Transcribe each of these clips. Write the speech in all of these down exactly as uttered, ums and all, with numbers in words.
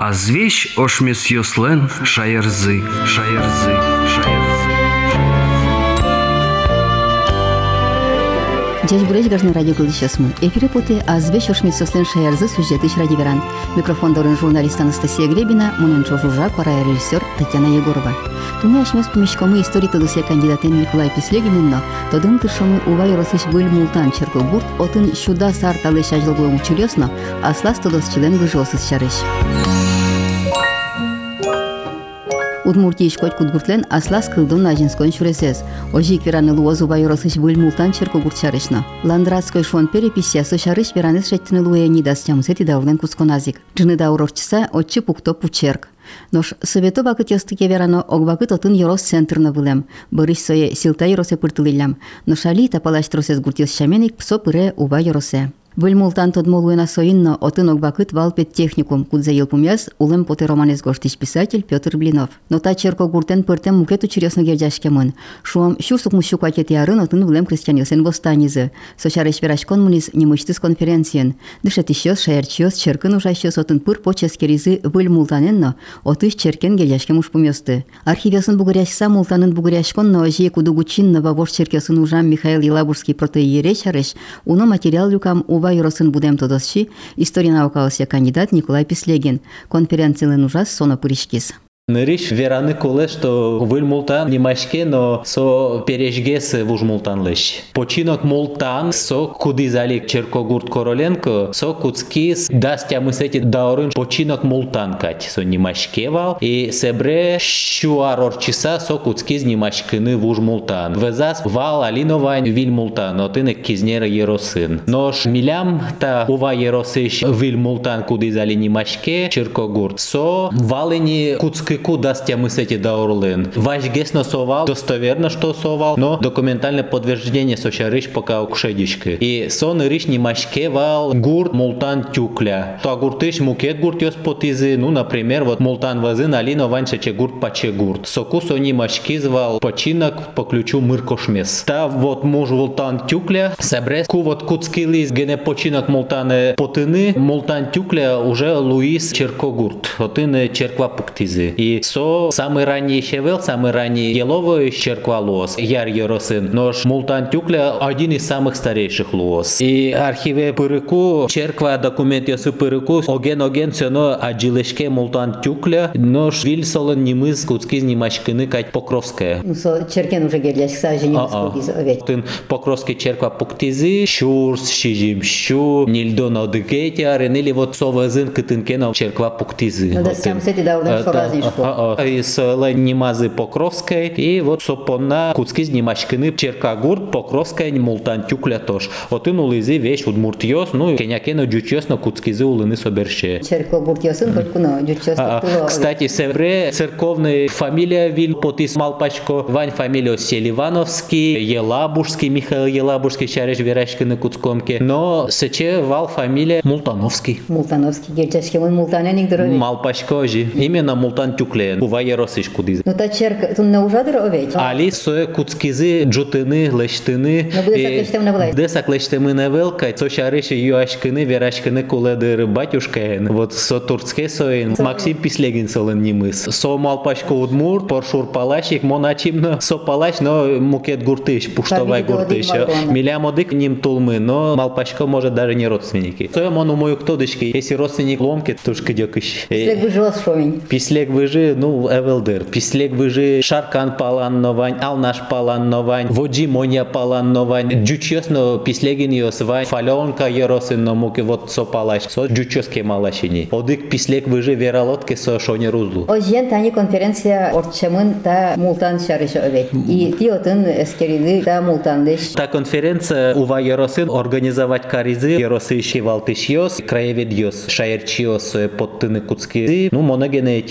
Азвещ ошмес йослен шаярзы, шаярзы, шаярзы. Дядь Буречь гажны радио мы. Эфире поты азвещ ошмес йослен шаярзы сюжеты радиоверан. Микрофон дорын журналист Анастасия Гребина, муненчо жужа, пара режиссер Татьяна Егорова. Туне ашмес помещкомы истории тадусе кандидатын Николай Пислегининно, тодын тыршомы увай росыш был мултан черкогурт, отын щуда сарталы шажылгуем чурёсно, аслас тодос член выжосыз шарыш. Удмуртия шкот кудгуртлен аслас кылдым нажинскон шуресез. Ожик вераны луоз увай росыш был мултан черкогурт шарышно. Ландратской шон переписия со шарыш вераныз шеттыны луя нидас чамусети даурден кусконазик. Джины даурорчса отчы пукто пучерк. Нош совето бакыт ястыке верано огбакыт отын ерос центрно вылем. Бырыш сое силта еросе пыртылылям. Ношали тапалаш тросез гуртес шаменик псо пыре уба еросе. Выльмултан тодмолуена соинно отын огбакыт валпет техникум, кудзе елпумяс улем поте романез гоштич писатель Петр Блинов. Но та черко гуртен пыртем мукет учерёсно гердяшкемын. Шуам щурсук мущук атет ярын отын вылем крестьянесен востанизы. Сочареш верашкон мунис немычтыс конференциен. Дышет ищёс, шаярчёс, черкын ужащёс отын пыр поческеризы выльмултаненно отыш черкен гердяшкем ушпумёсты. Архивесын бугыряшса мултанын бугыряшконно ожие кудугучинно вавош черкесын ужам Михаил Елабужский протоиерей шареш, уно материал люкам ува Юросын будем тодосчи, история наукалысия кандидат Николай Пислегин. Конференциялен ужас соно пыришкис. Ныриш вераны коле, что выль мултан немашке, но со пережгес вуж мултан лыш. Починок мултан со кудизалик Черкогурт Короленко, со куцкис дастя мысети даурын починок мултан кать, со немашке вал, и себре щуарор часа со куцкис немашкины вуж мултан. Везас вал алиновань виль мултан, но ты не кизнера еросын. Нож милям та ува еросыш виль мултан кудизали немашке Черкогурт. Со валени куцкис куда мы с эти даурлын. Ваш гесно совал, достоверно, что совал, но документальное подтверждение сочарыш пока укшедички. И сон риш не машкевал гурт мултан тюкля. То гуртыш мукет гурт ёс потизы, ну, например, вот мултан вазын алино ванча че гурт паче гурт. Соку сони машкизвал починок по ключу мыркошмес. Та вот муж мултан тюкля, собрес ку вот куцкилис гене починок мултане потыны, мултан тюкля уже Луис Черкогурт. Отыны черква пуктизы. И со самый ранний щевел, самый ранний еловый черква луос, яр еросын, нож мултан тюкля один из самых старейших луос. И архиве пырыку, черква документ ёсы пырыку, оген-оген сёно аджилешке мултан тюкля, нож вильсолын немыз куцкиз немашкыны кать Покровская. Ну, со черкен уже герляш, сажи немыз кудиз овет. Тын Покровский черква пуктизы, щурс, щижим, щу, нильдон одыгетя, ренели вот совазын кытынкена черква пуктизы. Ну, да, сам сети даурден шоразин. Из Немазы Покровской и вот сопона куцкиз немашкыны Черкогурт Покровская мултан тюкля тош. Отын улызы вещь удмуртьёс, ну кенякено джучёс на куцкизы улыны соберше. Черкогурт ёсын куно джучёс. Кстати, севре церковная фамилия виль потис Малпачко, Вань фамилия Селивановский, Елабужский, Михаил Елабужский, шареш верашкыны куцкомке, но сече вал фамилия Мултановский. Мултановский герчашкемын мултаненик дороги. Малпачко же, именно мултан тюклен. Ува еросиш кудиз. Ну та черка, тут не ужадыр овеч. Али сое куцкизи джутыны, лештыны. Но буде саклештем не власть. Де саклештемы не велка, со шариши юашкыны, верашкыны куледыр батюшкаен. Вот со турцке соин, Максим Пислегин солен немыс. Со малпачко удмурт, поршур палашик, моначимно со палаш, но мукет гуртыш, пуштовай гуртыш. Милямодык ним тулмы, но малпачко может даже не родственники. Сое мону мою ктодышки, если родственник ломки, тушки дёкыш. Пислег выжил шовень. Пислег выжи, ну, Эвелдер. Пислег выжи, Шаркан паланновань, Алнаш паланновань, Воджи моня паланновань, Джучёсно пислегин ёсвань, Фалёнка еросынно муки вот со палаш, со джучёске малашини. Одык пислег выжи вералотке со шоне рузлу. Ожен тани конференция орчамын та мултан шарышы овет. И ти отын эскериды та мултандыш. Та конференция ува еросын организовать каризы, еросыщи валтышьёс, краевед ёс, шаерчиёс, подтыны куцкизы, ну, моногене этизы,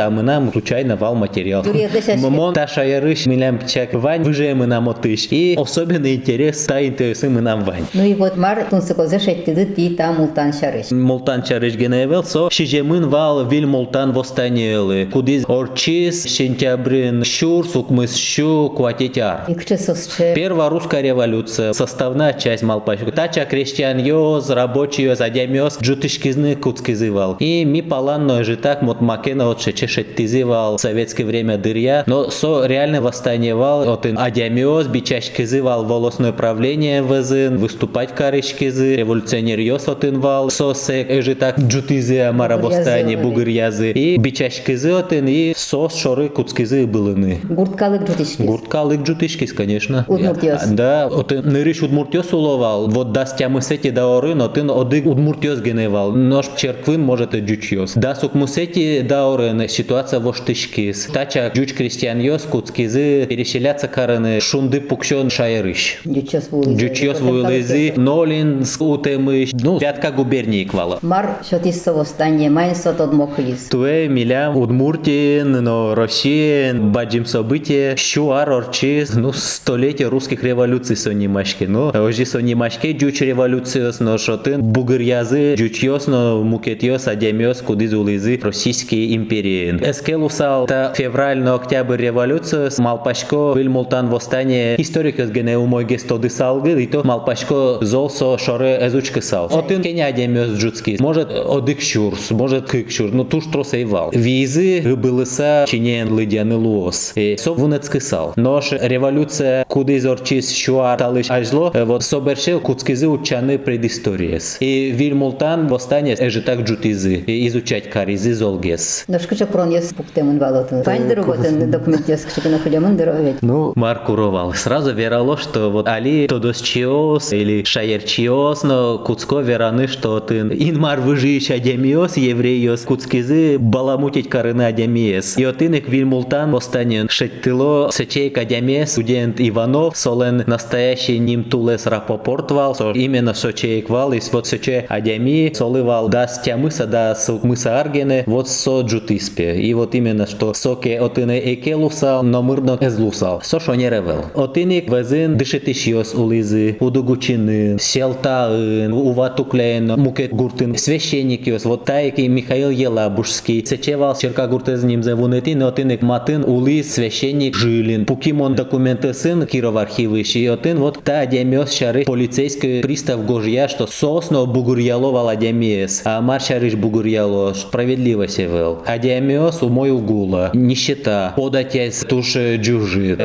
а мы нам случайно вал материал. Мон та шаярыш мы нам чак вань, выже мы нам отыш. И особенный интерес та интересы мы нам вань. Ну и вот мар тунсыкозы шеттиды ти та мултан шарыш. Мултан шарыш геневел, со шижемын вал вил мултан восстаниелы. Кудиз орчис, сентябрин, щур, сукмыс щу, кватетяр. И кче сосче. Первая русская революция, составная часть Малпашка. Тача крестьян йоз, рабочий йоз, адямёз, джутышкизны куцкизывал. И ми паланно же так мот макена от шече шеттизывал в советское время дырья. Но со реально восстаниевал от адямёз, бичашкизывал волосное правление вызын, выступать карышкизы, революционер йоз от инвал, со сек же так джутизы амара восстание бугырязы. И бичашкизы от и со шоры куцкизы былыны. Гурткалык джутышкиз. Гурткалык джутышкиз, конечно. Удмуртиос. Да, от нырыш удмуртиос уловал. Вот даст тямысети даорын, от ин одык удмуртиос геневал. Нож черквын может и джучиос. Да сукмусети даорын ситуация воштышкиз. Тача джуч крестьяньос куцкизы переселяться караны шунды пукшон шайрыш. Джучиос вулызы. Джучиос вулызы, Нолин утемыш. Ну, пятка губернии квала. Мар шотиссо восстание майнсо тодмокылиз. Туэ милям удмуртин, но Россия, баджим события, щуар орчиз, ну, столетие русских революций сонимашки. Ну, ожи сонимашки джуч революциос, но шотын бугырязы, джучиос, но мукетиос, адемиос, кудиз улизы Российские империи. Эскелусал та февраль, но октябрь революциос, Малпашко, вил мултан восстание, историкос гене умой гестоды салгы, и то Малпашко золсо шоре эзучки сал. Отын кеня адемиос джутски, может одык щурс, может кык щур, ну туш тросейвал. Визы былыса чинен лыдяны луос. И со вунецки сал. Нож революция кудиз орчис щуар талыш ажло, вот собершел куцкизы учаны предисториес. И вил мултан восстание эже так джутизы, и изучать каризы золгес. Но шкачок пронес пуктемын валотын. Пань работен документиос кчекена хулемын дыровет. Ну, маркуровал. Сразу верало, что вот али тодосчиос или шаерчиос, но куцко вераны, что ты инмар выжиешь адемиос, евреиос, куцкизы баламутить карыны адемиес. И от иных вил мултан восстание шеттило сечейк адемиес, студент Иванов, солен настоящий ним тулес рапопортвал, со именно сочейк вал, и вот сече адеми солывал да стямыса, да сукмыса аргене, вот со джутиспе. И вот именно что соке от ине экелусал, но мырно эзлусал. Со шо не ревел. От иных везин дышетишьос улизы, удугучины, селтаын, уватуклен, мукет гуртын, священникиос, вот тайки Михаил Елабужский, сечевал черка гуртез ним зевунетин, от иных матын улиз, священник Жилин, пукимон документы сын Киров архивыш, и от ин вот та адемиос шары полицейский пристав Гожья, что сосно бугурьяло вал адемиес, а мар шарыш бугурьяло, справедливость евел. Адемиос умой угула, нищета, податясь туше джужит,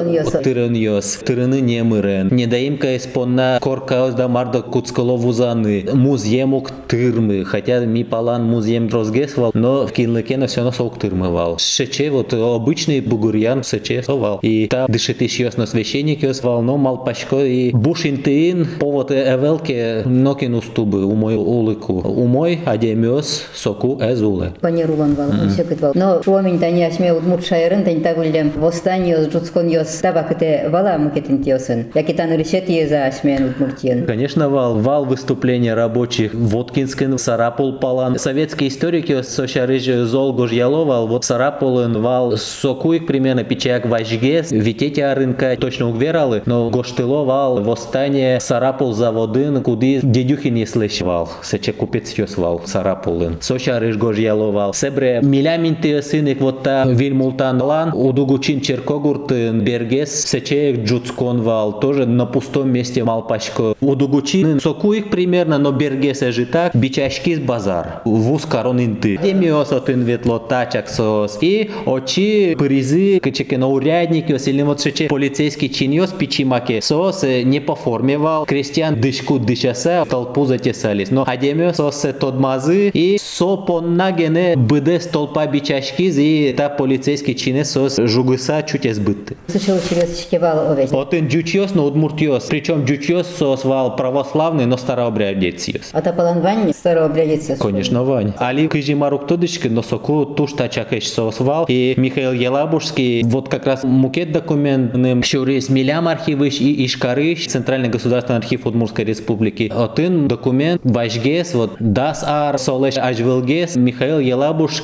тыраньос, тыраны немырен, недоимка испонна коркаос да марда куцкало вузаны, муземук тырмы, хотя ми палан музем дрозгесвал, но в кинлекена все равно сок тырмывал. Шече вот обычный бугурьян сече совал. И та дышетишьос на священникиос вал, но Малпашко и бушинтеин повод эвелке нокин устубы умой улыку. Умой адемиос соку эзуле. Панерулан вал, всякий вал. Но шуамин тани ашме удмурт шайрын тань тагулем восстаниос джутсконьос табакыте вала мукетинтиосын. Якитан решет еза ашмен удмуртиен. Конечно, вал. Вал выступления рабочих Воткинскин, Сарапул палан. Советские историки сошарыж зол гожьяловал. Вот Сарапулын вал сокуик примерно печак важгес. Витете рынка точно угвералы. Но гоштыловал восстание Сарапул заводын, куди дедюхин не слышал. Сече купец вал Сарапулын. Сошарыж гожьяловал. Себре миляминты сыник вот та вильмултан лан. Удугучин черкогуртын бергес. Сече джуцкон вал. Тоже на пустом месте Малпашко. Удугучин сокуик примерно, но бергес же так. Бичашкис базар. Вуз коронинты. Демиос отын ветло тачак сос. И очи призы кчеке на урядники, или вот сече полицейский чиньос пичимаке. Сос не по форме вал. Крестьян дышку дышаса, толпу затесались. Но адемиос сос тодмазы и сопоннагене быде столпа бичашкиз и та полицейский чинес сос жугыса чуть избытты. Слышал через шкевал овец. Отын джучиос, но удмуртиос. Причем джучиос сос вал православный, но старообрядециос. А та палан вань старообрядециос. Конечно, вань. Али кыжимарук тодышки, но соку туш тачакеш сос вал. И Михаил Елабужский, вот как раз мукет документным, щурис милям архивыш и ишкарыш, Центральный государственный архив Удмуртской республики. Отын документ важгес, вот дас ар солеш ажвелгес, Михаил Елабужский, жак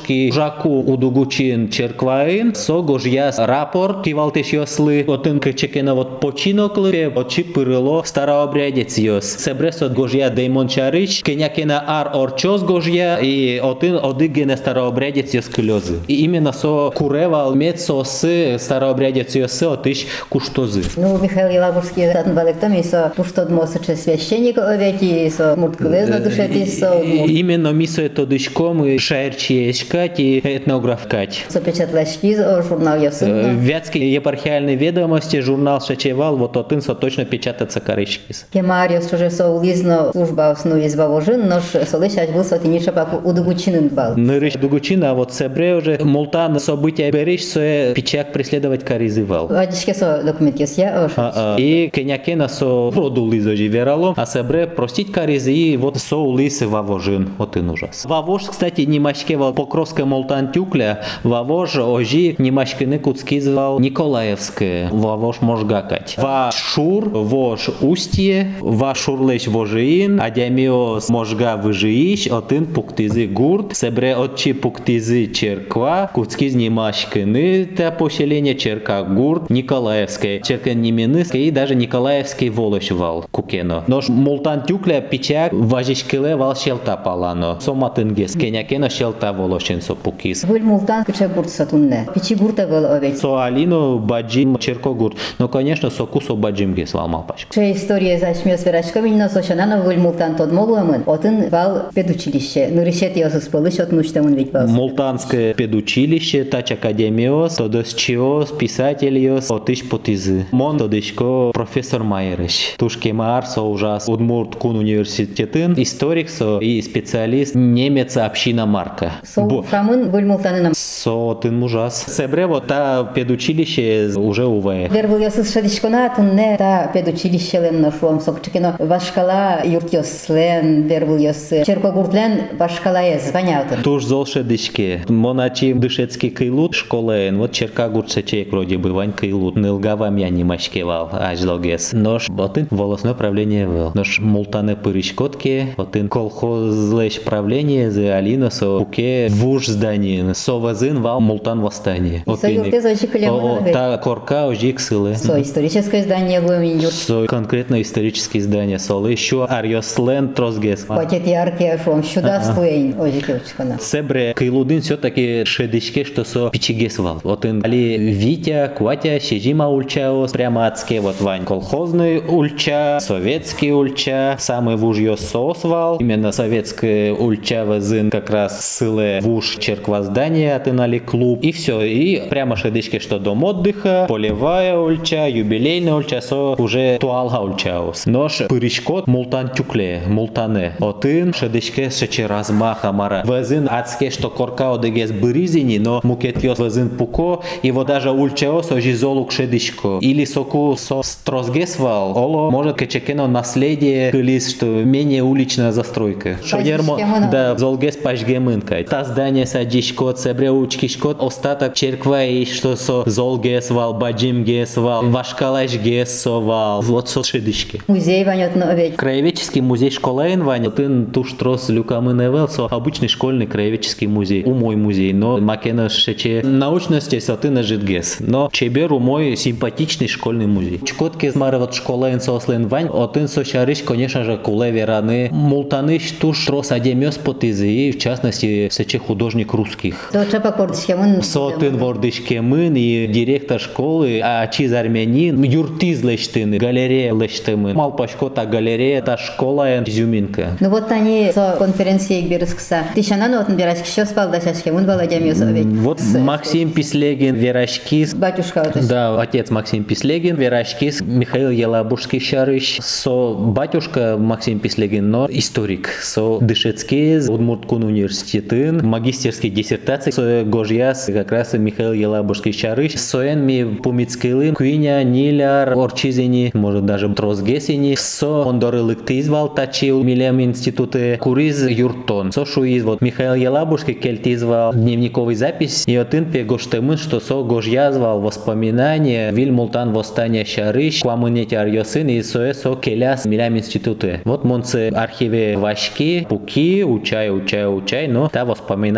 шаку удугучин черкваин, со гожья рапорт кивалтеш йосли, отын кечекена вот починоклы, очи пырыло старообрядец йос. Себрес от гожья деймон чарич, кенякена ар орчоз гожья, и отын одыгене старообрядец йос клёзы. И именно со куревал мет сосы старообрядец йосы отыш куштозы. Ну, Михаил Елабужский, татын балектом, со туштод мосоче священник овети, со мурткулезно душетис, со именно мисо это дышком шаерчиешкать и этнографкать. со печатлачки, журнал Йосын. Вятские епархиальные ведомости, журнал Шачевал, вот отын со точно печатается корышкис. Кемариус уже со улизно служба осну из Бавожин, но солыщать был со тинича паку удугучинын бал. Нырыш дугучина, а вот Себре уже мултан события берешь, со печак преследовать коризывал. Вадичке со документки я А, и кенякена со роду лизожи верало, а Себре простить коризи и вот со улисы Вавожин, вот и ужас. Вавож, кстати, не мачкевал покровская молтан тюкля, Вавож ожи не мачкины куцки звал Николаевское, Вавож можгакать. Вашур, вож устье, вашурлеш вожиин, адямиос можга выжииш, отын пуктизы гурт, Себре отчи пуктизы черква, куцки не мачкины, та поселение черка гурт, Николаевское, черка Неменыское и даже Николаевский волошвал кукено. Нож молтан тюкля печак важишкиле вал шелта палано. Соматынгес кенякено шелта волошен со пукис. Выль мултан кыча гурт сатунне. Пичи гурта был овец. Со алино баджим черко гурт. Но, конечно, со кусо баджим гес вал малпашка. Ше история зачмёс верачками, но сошанано выль мултан тот могломын. Отын вал педучилище. Нырышет ёсус пылыш от нуштамын ведь бас. Молтанское педучилище, тач академиос, тодос чиос, писательиос, отыш потизы. Мон тодышко профессор Майерыш. Тушке маар со ужас Удмурт кун университетын, историк со и специалист немец община Марка. Сол фрамын выль мултанынам. Со тын ужас. Себре вот та педучилище уже уве. Вер был ёсус шадишкона, тунне та педучилище лен ношлом сокчекино. Вашкала юрт ёслен, вер был ёс черкогуртлен вашкала е звонятын. Туж золше дышке. Моначи дышецкий кайлут школен. Вот черка гурцечек вроде бы вань кайлут. Нылгавам я не мачкевал. Аж логес. Нож ботын волосное правление был. Нож мултане пырышкотке. Ботын колхозлеш правление за алина со пуке вуж зданин. Со вазын вал мултан восстание. Со юрте зачекали много. Та корка ожик сылы. Со историческое здание главин юрт. Со конкретно исторические здания. Солы еще арьослен трозгес. Пакет яркий шум. Сюда стоин ожикевчкана. Себре кайлудын все-таки шедышке, что со пичигесвал. Вот ин али Витя, Кватя, Шежима ульчаос, прямо адске вот вань. Колхозный ульча, советский ульча, самый вуж ее сосвал. Именно советская ульча вазын как раз сыле вуж черква здания, отынали клуб. И все, и прямо шедышке, что дом отдыха, полевая ульча, юбилейная ульча, со уже туалга ульчаос. Нож пырышкот мултан тюкле, мултане. Отын шедышке шече размаха мара. Вазын адске, что корка одегес быризини, но мукетьос вазын пуко, и вот даже ульчаос ожи золук шедышко. Или соку со строзгесвал, оло может кечекено наследие кылис, что менее уличная застройка. Шодермо, да, золгес пашгемынка. Та здание садишко, цебре учкишко, остаток черква и что со золгесвал, баджимгесвал, вашкалашгесовал, вот со шедышки. Музей ванет на овец. Краеведческий музей школаин ванет, тын туш трос люкамыневел, со обычный школьный краеведческий музей. У мой музей, но макена шече научности сатына житгес. Но чебер у мой симпатичный школьный музей. Чкотки змары вот школаин сослен вань, отын сошарыш, конечно же, куле вераны. Мултаныш туш трос адемёс потизы, и в частности, сече художник русских. То чапа кордышкемын. Сотын вордышкемын и директор школы, а чиз армянин, юртиз лештыны, галерея лештымын. Малпашко та галерея, та школа изюминка. Ну вот они со конференции берискса. Тишанан отын берашки шо спал дашашкемын баладямёс овец. Вот Максим Пислегин, Верашкис. Батюшка отыш. Да, отец Максим Пислегин, Верашкис, Михаил Елабужский шарыш. Со батюшка Максим Пислегин, но историк. Со Дышецкий, Удмурткун университетын, магистерский диссертации. Со Гожьяс, как раз Михаил Елабужский шарыш. Соен ми Пумицкилым, Куиня, Ниляр, Орчизини, может даже Трозгесини. Со Ондоры Лыктизвал, Тачил, Милем институты, Куриз, Юртон. Со Шуиз, вот Михаил Елабужский кельтизвал дневниковый запись. И отын пегоштемын, что со Гожьязвал воспоминания, Вильмултан восстания шарыш, Куамынете арьосын и соэ со келяс Милем институты. Вот монце архиве Вашки, Пуки, Учай, Учай, Учай, но та воспоминания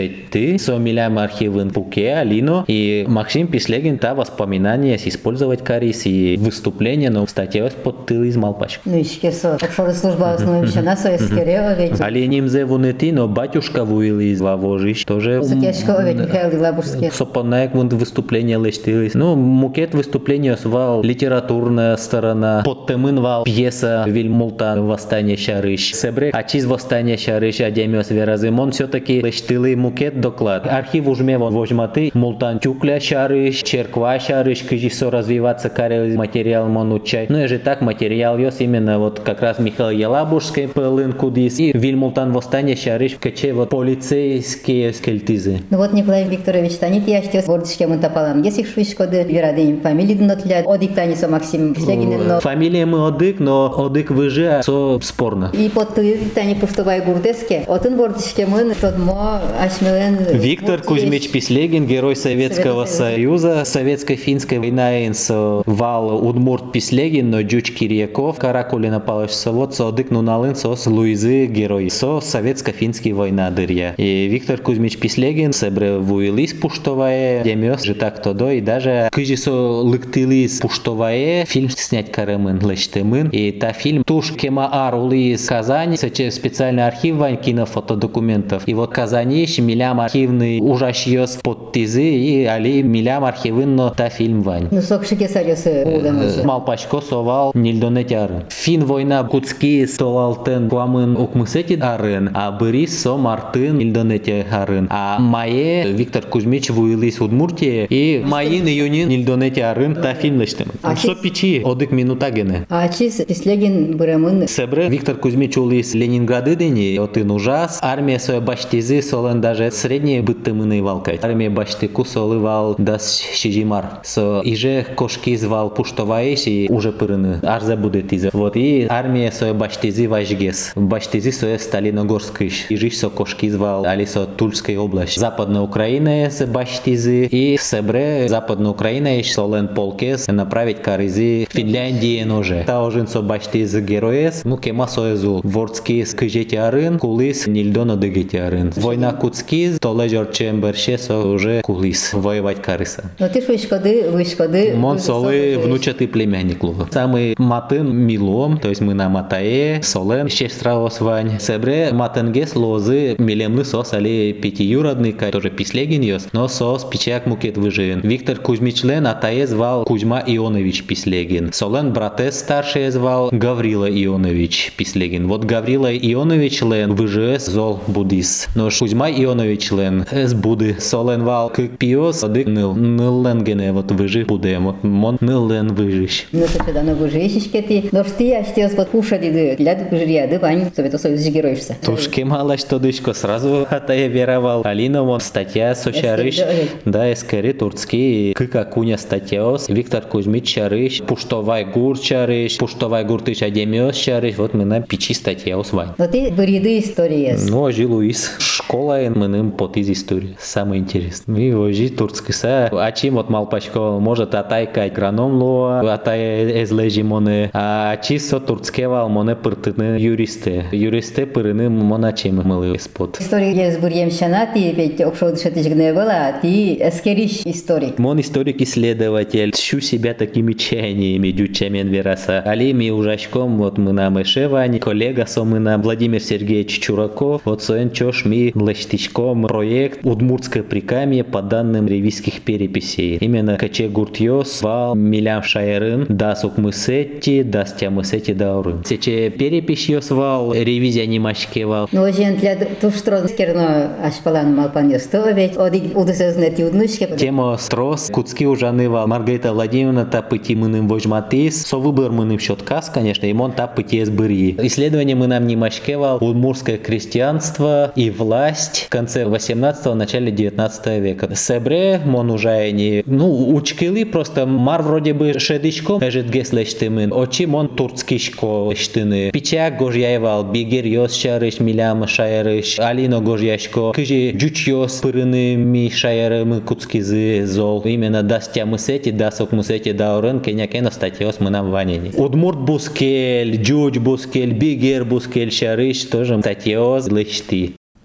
шетты, со милям архивын пуке, алино, и Максим Пислегин та воспоминания использовать карис и выступление, но статья под тыл из Малпачка. Ну, еще со. Обшоры служба основывающая на соискерева ведь. Али нимзе вунети, но батюшка вуил из Вавожищ, тоже... Сакешкова ведь Михаил Елабужский. Сопонаек вон выступление лештились. Ну, мукет выступления свал литературная сторона, подтемын вал пьеса Вильмултан «Восстание Шарыш». Себре, а чиз «Восстание Шарыш» Адемиос Веразимон все-таки лештилый мукет доклад. Архив ужме вон вожматы, Мултан Тюкля Шарыш, Черква Шарыш, кыжисо развиваться карел материал мон учай. Ну, и же так материал ёс именно вот как раз Михаил Елабужский пылын кудис и Вильмултан «Восстание Шарыш», каче вот полицейские скельтизы. Ну вот Николай Викторович танит яштес вордышке мунтапалам. Если швышкоды верадень фамилии днотлят, одик таниса Максим Пислегин, но... Фамилия мы одик, но одик выжи, со спорно. И под ты тани пуштовай гурдеске, отын вордышке мын, тот мо ашмелен... Виктор Кузьмич Пислегин, герой Советского Союза, Советско-финская война со вал Удмурт Пислегин, но Джуч Кирьяков, Каракулина Палыч Совод, со одик нуналын, со Луизы герой, со Советско-финская война дырья. И Виктор Кузьмич Пислегин себре вуилис пуштовая, демёс же так то до, и даже кыжи со лыктылис пуштовая, фильм снять каремын лештемын, и та фильм туш кема арулис Казань, сече специальный архив вань кинофотодокументов, и вот Казаниш милям архивный ужащёс под тизы, и али милям архивын, но та фильм вань. Ну сокшике сарёсы улдамыжы. Малпачко совал нильдонетяры. Фин война Куцки столалтен куамын укмысети арын, а бырис со мартын нильдонете арын, а мае Виктор Кузьмич вуилис Удмуртия, и майын июнин нильдонете арын та фильм лештем. Со пичи одык минута гене. А чиз Пислегин бырамын... Себре Виктор Кузьмич улис Ленинграды дени, отын ужас, армия своя баштизи солен даже средние быттымыны валкать. Армия баштику солы вал дас шижимар. Со иже кошки звал пуштоваиш и уже пырыны. Арза будет иза. Вот и армия своя баштизи важгес. Баштизи своя Сталиногорскиш. Ижиш со кошки звал алисо Тульской области. Западная Украина с баштизи и себре Западная Украина иш солен полкес направить каризи Финляндии ноже. Та ожин со баштизи героес. Ну кема соезул. Вордский скыжети арын, кулис нильдоно дыгети арын. Война Куцки, то лежор чемберше со уже кулис. Воевать кариса. Но ты швышкоды, вышкоды... Мон солы внучатый племянник луга. Самый матын милом, то есть мы на матае, солен, щестраос вань. Себре матенгес лозы милемлы сос али пятиюродный, тоже Пислегин ёс, но сос пичак мукет выжин. Виктор Кузьмич лен атае звал Кузьма Ионович Пислегин. Солен братес старший звал Гаврила Ионович Пислегин. Вот Гаврила Ионович лен выжес зол будис. Но Кузьма Ионович лен с буды. Солен вал к пиос, одык ныл. Ныл лен гене вот выжи буде. Вот мон ныл лен выжиш. Ну то что дано выжишечке ты. Но что я штес под пуша диды. Ляд выжиряды вань. Совета Союз героишься. Тушки мало что дышко сразу атае веровал. Алина вон статья Сочарыш. Да, эскери турцкий. Кыка куня статьяос. Виктор Кузьмич Чарыш. Пуштовай гур Чарыш. Пуштовай гуртыш Адемиос Чарыш. Вот мы на пичи статьяос вань. Но ты выриды истории. Ну, ожи Луис. Школа мы ним под из истории. Самое интересное. И ожи турцкий са. А чем вот малпачко может атайка экраном луа. Атая эзлежи моне. А чисто турцкий вал моне пыртыны юристы. Юристы пырыны мона чем мылы спот. История есть бурьемщана. Ты ведь окшо дышатыжгне была. Ты эскериш историк. Мон историк-исследователь. Щу себя такими чаяниями дючамен вераса. Алими ужашком вот мы на Мышевань. Коллега со мы на Владимир Сергеевич Чураков. Вот соен чош ми лештичком проект Удмуртское прикамье по данным ревизских переписей. Именно каче гуртьос вал милям шайрын дас укмысети дас тямысети даурын. Сече перепись йос вал ревизия немашке вал. Ну ожен для туштро скерно ашпалан малпан ёсто ведь одик удысезнети уднушке. Тема строс Куцки ужаны вал Маргарита Владимировна та пыти мыным вожматис. Со выбор мыным счеткас, конечно, и мон та пыти сбырьи. Исследование мы нам немашке вал удмуртское крестьянство и власть в конце восемнадцатого, начале девятнадцатого века. Себре, мон уже не, ну, учкили просто мар вроде бы шедичком, эжет геслештымын, очи мон турцкишко штыны. Пичак гожьяевал, бигер йос шарыш, милям шайрыш, алино гожьяшко, кыжи джуч йос пырыны ми шайрымы куцкизы зол. Именно дастя мысети, дасок мысети даурын, кенякено статьос мы нам ванени. Удмурт бускель, джуч бускель, бигер бускель шарыш, тоже статьос лышти.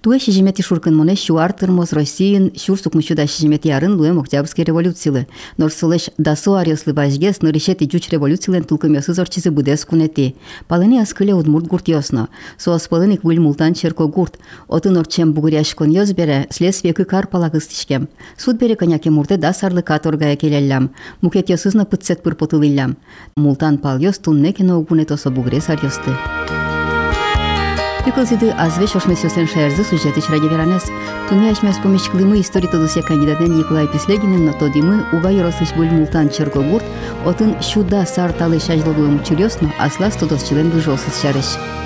Туэ шижимети шуркын моне шуар тырмоз Россиин шур сукмучуда шижимети арын луэм Октябрьский революцийлы. Норсулеш дасу ариослы бажгес норишети жуч революцийлен тулкымёсы зорчизы будес кунети. Палыни аскыле удмурт гурт ёсно. Суас палыник выль мултан черко гурт. Оты норчем бугуряшкон ёз бере следствие кыкар палагыз тишкем. Суд бере коняке мурте да сарлы каторгая келеллям. Мукет ёсызна пытсет пыр потылыллям. Мултан пал ёс тунне кино угунетосо бугуре сарьёсты. Пиколзиды азвеш ошмесёсен шаярзы сюжетыч ради веранес. Туни ашмес помещклымы истории тодусе кандидатен Николай Пислегинен но тодимы угай рослыш буль мултан черко гурт, отын шуда сар талы шажлодуем учурёсно, аслас тодос член выжолсыз шарыш.